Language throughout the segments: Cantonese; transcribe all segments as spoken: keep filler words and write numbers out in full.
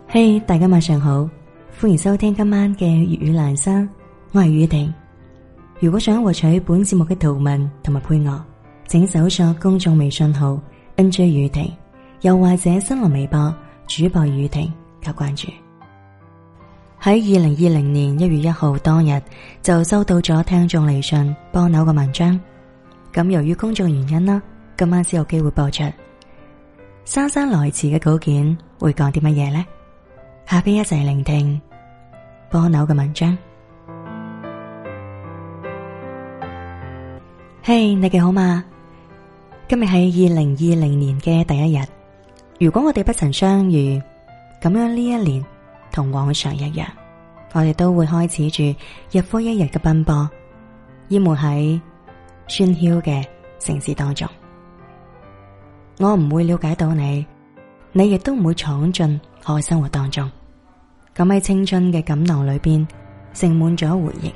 嘿，hey，大家晚上好，歡迎收聽今晚嘅粵語欄山，我係宇婷。如果想獲取本節目嘅圖文同埋配樂，請搜索公眾微信號 N J 宇婷，又或者新浪微博主播宇婷加關注。喺二零二零年一月一號當日就收到咗聽眾嚟信幫扭嘅文章，咁由於工作原因啦，今晚先有機會播出。姍姍來遲嘅稿件會講啲乜嘢呢？下邊一齊聆聽波妞嘅文章。嘿，你哋好嗎？今日係二零二零年嘅第一日。如果我哋不曾相遇，咁樣呢一年同往常一樣，我哋都會開始住日復一日嘅奔波，淹沒喺喧囂嘅城市當中。我唔會了解到你，你亦都唔會闖進我嘅生活當中。咁喺青春嘅錦囊裏邊盛滿咗回憶。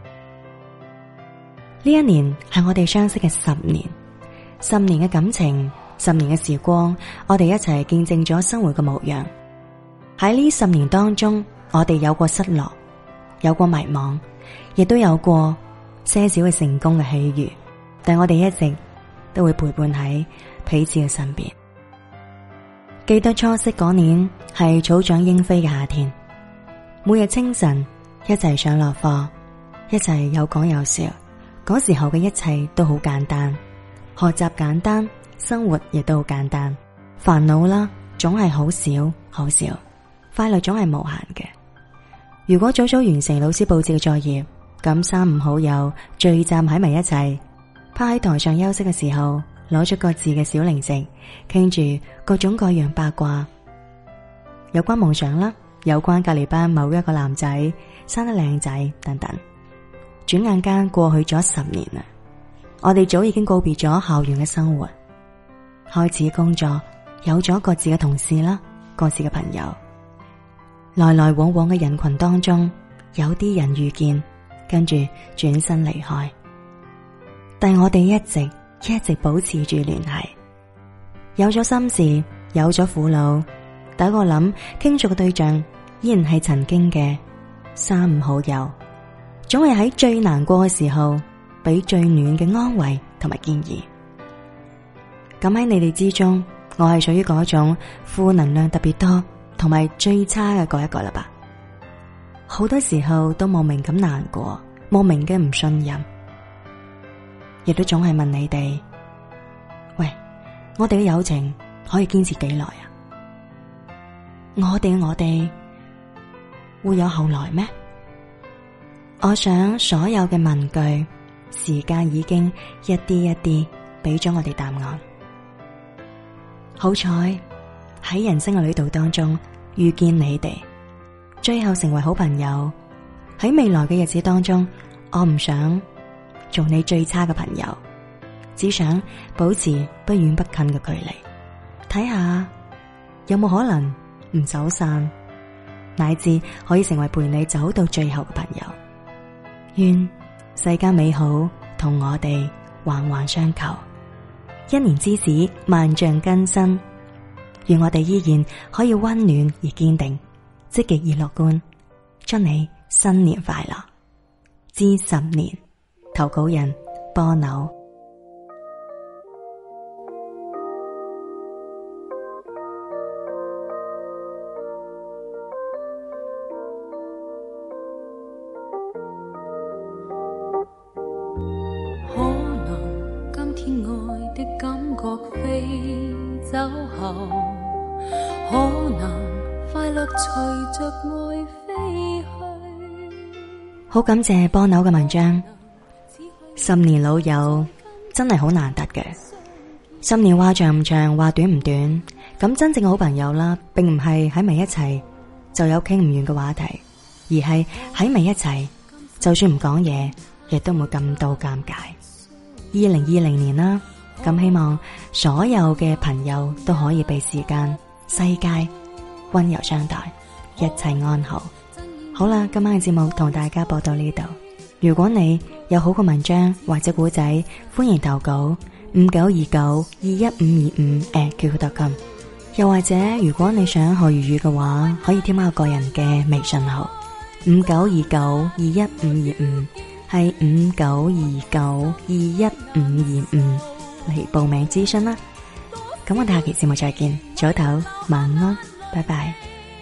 呢一年係我哋相識嘅十年，十年嘅感情，十年嘅時光，我哋一齊見證咗生活嘅模樣。喺呢十年當中，我哋有過失落，有過迷茫，亦都有過些少嘅成功嘅喜悅，但我哋一直都會陪伴喺彼此嘅身邊。記得初識嗰年係草長鶯飛嘅夏天，每日清晨一齊上落課，一齊有講有笑。嗰時候嘅一切都好簡單，學習簡單，生活亦都好簡單。煩惱啦，總係好少好少，快樂總係無限嘅。如果早早完成老師布置嘅作業，咁三五好友聚集喺埋一齊，趴喺台上休息嘅時候，攞出各自嘅小零食，傾住各種各樣八卦，有關夢想啦，有關隔籬班某一個男仔生得靚仔等等。轉眼間過去咗十年啦，我哋早已經告別咗校園嘅生活，開始工作，有咗各自嘅同事啦，各自嘅朋友。來來往往嘅人群當中，有啲人遇見，跟住轉身離開，但我哋一直一直保持住聯繫。有咗心事，有咗苦惱，第一個諗傾訴嘅對象依然係曾經嘅三五好友，總係喺最難過嘅時候俾最暖嘅安慰同埋建議。咁喺你哋之中，我係屬於嗰種負能量特別多同埋最差嘅嗰一個啦吧。好多時候都莫名咁難過，莫名嘅唔信任，亦都總係問你哋：喂，我哋嘅友情可以堅持幾耐啊？我哋我哋會有後來咩？我想所有嘅問句，時間已經一啲一啲俾咗我哋答案。好彩喺人生嘅旅途當中遇見你哋，最後成為好朋友。喺未來嘅日子當中，我唔想做你最差嘅朋友，只想保持不遠不近嘅距離，睇下有冇可能唔走散，乃至可以成為陪你走到最後嘅朋友。願世間美好同我哋環環相扣，一年之始萬象更新。願我哋依然可以溫暖而堅定，積極而樂觀。祝你新年快樂！知十年，投稿人波妞。 感覺飛走後，可能快樂隨着愛飛去。 好感謝波妞嘅文章。十年老友真係好難得嘅。十年話長唔長，話短唔短，咁真正嘅好朋友啦，並唔係喺埋一齊就有傾唔完嘅話題，而係喺埋一齊就算唔講嘢，亦都唔會感到尷尬。二零二零年啦，咁希望所有嘅朋友都可以被時間、世界溫柔相待，一切安好。好啦，今晚嘅節目同大家播到呢度。如果你有好嘅文章或者古仔，歡迎投稿五九二九二一五二五 at QQ 點 com。 又或者如果你想學粵語嘅話，可以添加我個人嘅微信號五九二九二一五二五，係五九二九二一五二五嚟報名諮詢啦。咁我哋下期節目再見，早唞，晚安，拜拜。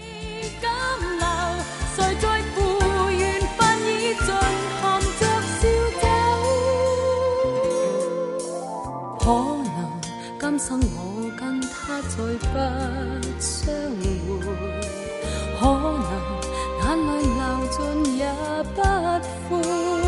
可能今生我跟他再不相會，可能眼淚流盡也不悔，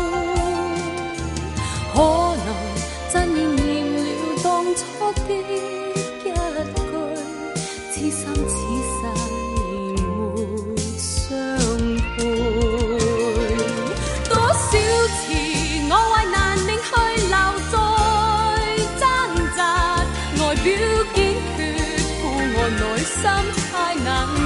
可能真應驗了當初的一句，此生此世沒相配。多少次我為難命去留在表堅決，故我內心太難